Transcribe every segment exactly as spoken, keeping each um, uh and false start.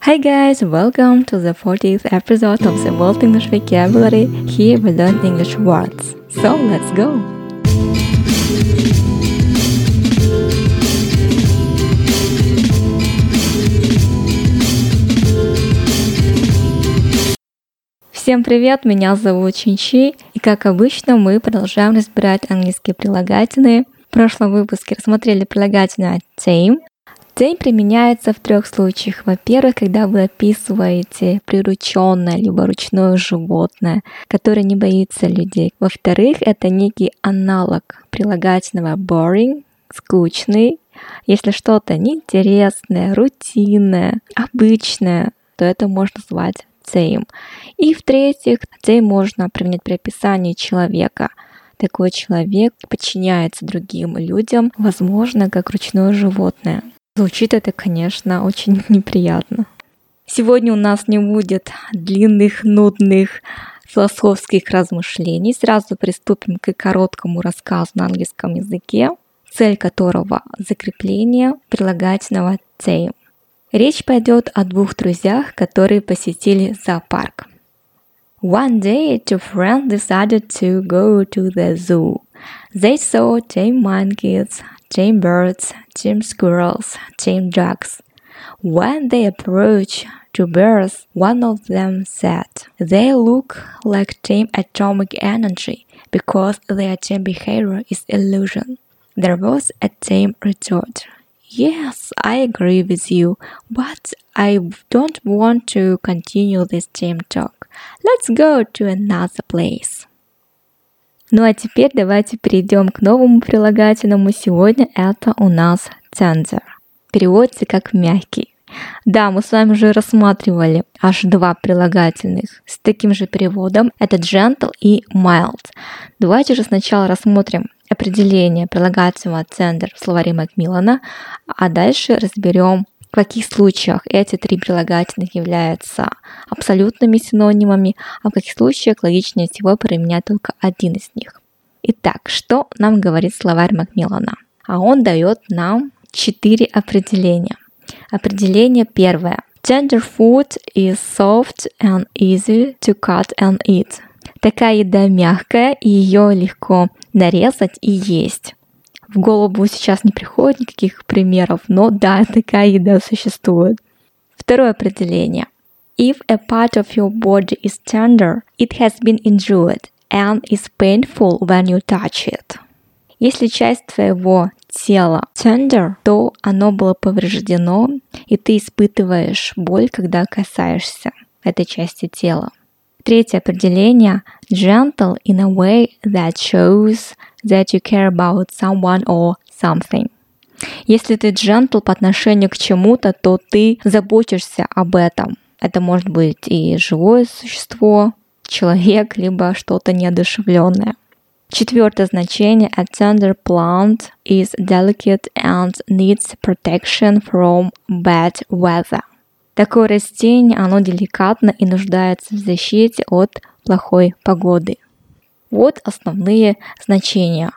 Hi guys, welcome to the fortieth episode of the World English Vocabulary. Here we learn English words. So let's go! Всем привет, меня зовут Чинчи, и как обычно мы продолжаем разбирать английские прилагательные. В прошлом выпуске рассмотрели прилагательное tame. Tame применяется в трех случаях. Во-первых, когда вы описываете прирученное либо ручное животное, которое не боится людей. Во-вторых, это некий аналог прилагательного boring, скучный. Если что-то неинтересное, рутинное, обычное, то это можно назвать tame. И в-третьих, tame можно применять при описании человека. Такой человек подчиняется другим людям, возможно, как ручное животное. Звучит это, конечно, очень неприятно. Сегодня у нас не будет длинных, нудных философских размышлений. Сразу приступим к короткому рассказу на английском языке, цель которого — закрепление прилагательного tame. Речь пойдет о двух друзьях, которые посетили зоопарк. One day, two friends decided to go to the zoo. They saw tame monkeys, tame birds, tame squirrels, tame ducks. When they approached two bears, one of them said, "They look like tame atomic energy because their tame behavior is illusion." There was a tame retort. "Yes, I agree with you, but I don't want to continue this tame talk. Let's go to another place." Ну а теперь давайте перейдем к новому прилагательному. Сегодня это у нас tender. Переводится как мягкий. Да, мы с вами уже рассматривали аж два прилагательных с таким же переводом. Это gentle и mild. Давайте же сначала рассмотрим определение прилагательного tender в словаре Макмиллана, а дальше разберем, в каких случаях эти три прилагательных являются абсолютными синонимами, а в каких случаях логичнее всего применять только один из них. Итак, что нам говорит словарь Макмиллана? А он дает нам четыре определения. Определение первое. Tender food is soft and easy to cut and eat. Такая еда мягкая, и ее легко нарезать и есть. В голову сейчас не приходит никаких примеров, но да, такая еда существует. Второе определение. If a part of your body is tender, it has been injured and is painful when you touch it. Если часть твоего тела tender, то оно было повреждено, и ты испытываешь боль, когда касаешься этой части тела. Третье определение. Gentle in a way that shows that you care about someone or something. Если ты gentle по отношению к чему-то, то ты заботишься об этом. Это может быть и живое существо, человек, либо что-то неодушевленное. Четвертое значение. A tender plant is delicate and needs protection from bad weather. Такое растение, оно деликатно и нуждается в защите от плохой погоды. Вот основные значения.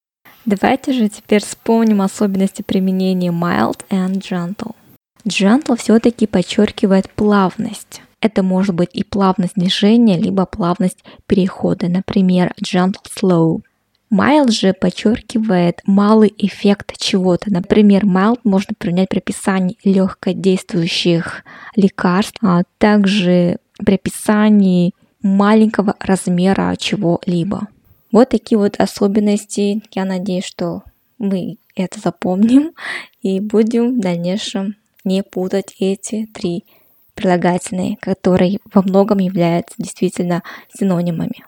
Давайте же теперь вспомним особенности применения mild and gentle. Gentle все-таки подчеркивает плавность. Это может быть и плавность движения, либо плавность перехода. Например, gentle slow. Mild же подчеркивает малый эффект чего-то. Например, mild можно применять при описании легкодействующих лекарств, а также при описании маленького размера чего-либо. Вот такие вот особенности. Я надеюсь, что мы это запомним и будем в дальнейшем не путать эти три прилагательные, которые во многом являются действительно синонимами.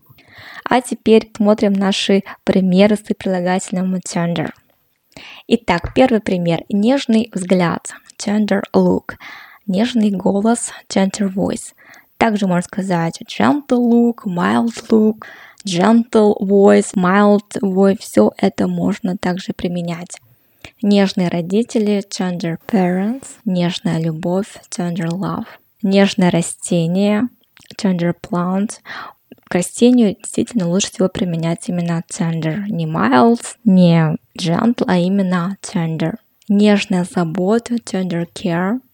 А теперь смотрим наши примеры с прилагательным tender. Итак, первый пример. Нежный взгляд. Tender look. Нежный голос. Tender voice. Также можно сказать gentle look, mild look, gentle voice, mild voice. Все это можно также применять. Нежные родители. Tender parents. Нежная любовь. Tender love. Нежное растение. Tender plant. К растению действительно лучше всего применять именно tender. Не mild, не gentle, а именно tender. Нежная забота, tender care.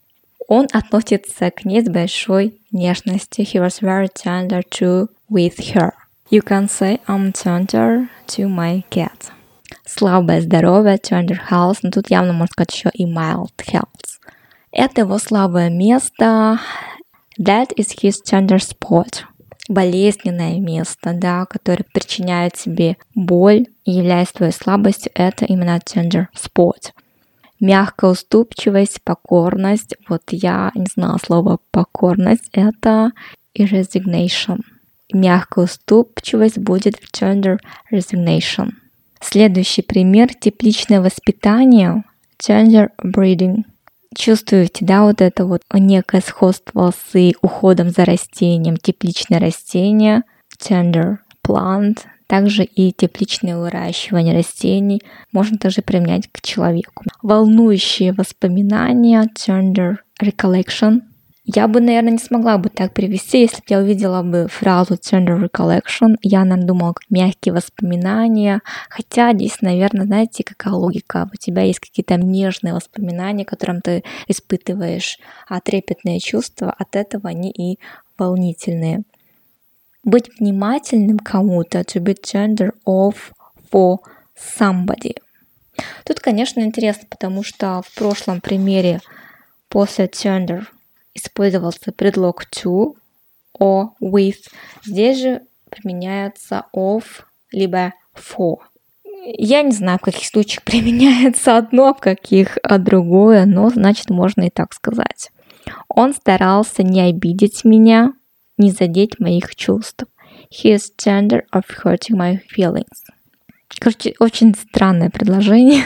Он относится к ней с большой нежностью. He was very tender to with her. You can say I'm tender to my cat. Слабое здоровье, tender health, но тут явно можно сказать еще и mild health. Это его слабое место. That is his tender spot. Болезненное место, да, которое причиняет тебе боль и является твоей слабостью, это именно tender spot. Мягкая уступчивость, покорность. Вот я не знала слова покорность. Это и resignation. Мягкая уступчивость будет в tender resignation. Следующий пример. Тепличное воспитание. Tender breeding. Чувствуете, да, вот это вот некое сходство с уходом за растением. Тепличное растение. Tender plant. Также и тепличное выращивание растений можно также применять к человеку. Волнующие воспоминания, tender recollection. Я бы, наверное, не смогла бы так перевести, если бы я увидела бы фразу tender recollection. Я, наверное, думала, как мягкие воспоминания. Хотя здесь, наверное, знаете, какая логика. У тебя есть какие-то нежные воспоминания, которым ты испытываешь, а трепетные чувства от этого они и волнительные. Быть внимательным кому-то, to be tender of for somebody. Тут, конечно, интересно, потому что в прошлом примере после tender использовался предлог to or with. Здесь же применяется of либо for. Я не знаю, в каких случаях применяется одно, в каких другое, но значит можно и так сказать. Он старался не обидеть меня, не задеть моих чувств. He is tender of hurting my feelings. Короче, очень странное предложение.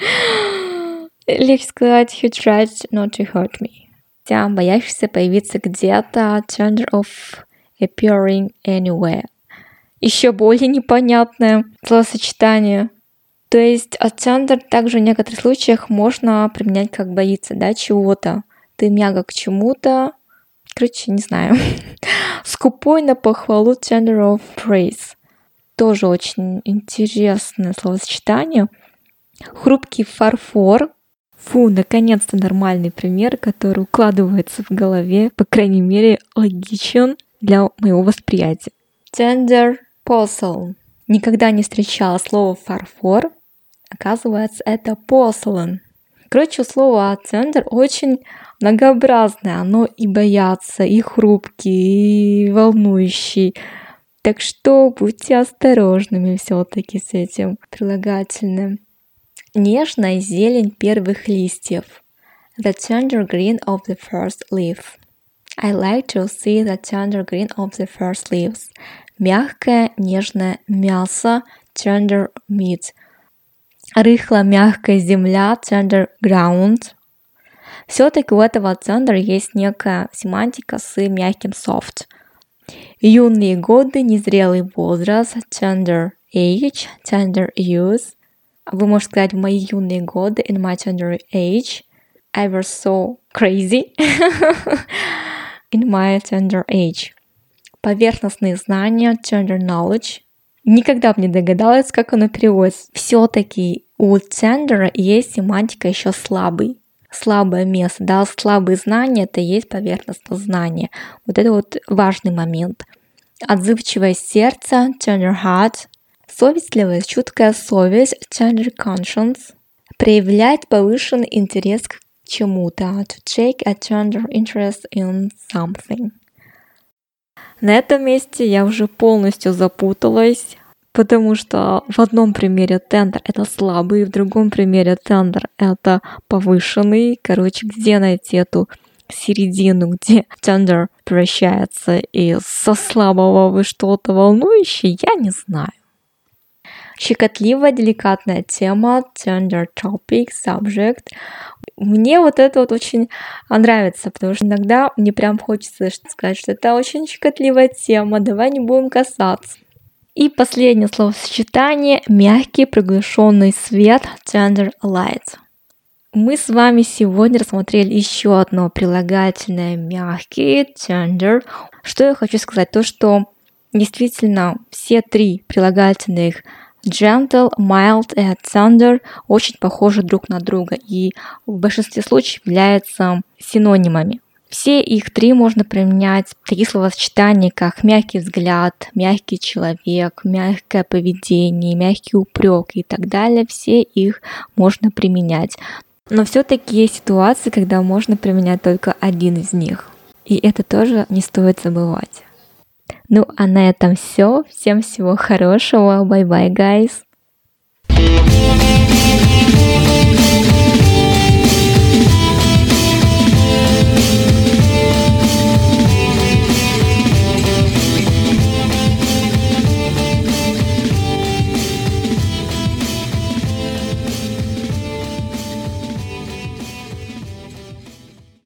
Легче сказать, he tried not to hurt me. Хотя боящийся появиться где-то, tender of appearing anywhere. Еще более непонятное словосочетание. То есть tender также в некоторых случаях можно применять как боится, да, чего-то. Ты мягок к чему-то. Короче, не знаю. Скупой на похвалу, tender of praise. Тоже очень интересное словосочетание. Хрупкий фарфор. Фу, наконец-то нормальный пример, который укладывается в голове, по крайней мере, логичен для моего восприятия. Tender porcelain. Никогда не встречала слово фарфор. Оказывается, это porcelain. Короче, слово tender очень многообразное. Оно и боятся, и хрупкий, и волнующий. Так что будьте осторожными все-таки с этим прилагательным. Нежная зелень первых листьев. The tender green of the first leaf. I like to see the tender green of the first leaves. Мягкое, нежное мясо. Tender meat. Рыхло-мягкая земля. Tender ground. Все-таки у этого tender есть некая семантика с мягким soft. Юные годы, незрелый возраст. Tender age. Tender youth. Вы можете сказать, в мои юные годы, in my tender age, I was so crazy. In my tender age. Поверхностные знания, tender knowledge. Никогда бы не догадалась, как оно переводится. Все-таки у tender есть семантика еще слабый. Слабое место, да, слабые знания, это и есть поверхностное знание. Вот это вот важный момент. Отзывчивое сердце, tender heart. Совестливая, чуткая совесть, tender conscience. Проявлять повышенный интерес к чему-то, to take a tender interest in something. На этом месте я уже полностью запуталась, потому что в одном примере tender это слабый, в другом примере tender это повышенный. Короче, где найти эту середину, где tender превращается из со слабого в что-то волнующее, я не знаю. Щекотливая, деликатная тема, tender topic, subject. Мне вот это вот очень нравится, потому что иногда мне прям хочется сказать, что это очень щекотливая тема, давай не будем касаться. И последнее словосочетание – мягкий приглушенный свет, tender light. Мы с вами сегодня рассмотрели еще одно прилагательное мягкий, tender. Что я хочу сказать? То, что действительно все три прилагательных Gentle, mild и tender очень похожи друг на друга и в большинстве случаев являются синонимами. Все их три можно применять, такие словосочетания, как мягкий взгляд, мягкий человек, мягкое поведение, мягкий упрек и так далее. Все их можно применять. Но все-таки есть ситуации, когда можно применять только один из них. И это тоже не стоит забывать. Ну а на этом все. Всем всего хорошего. Bye bye, guys.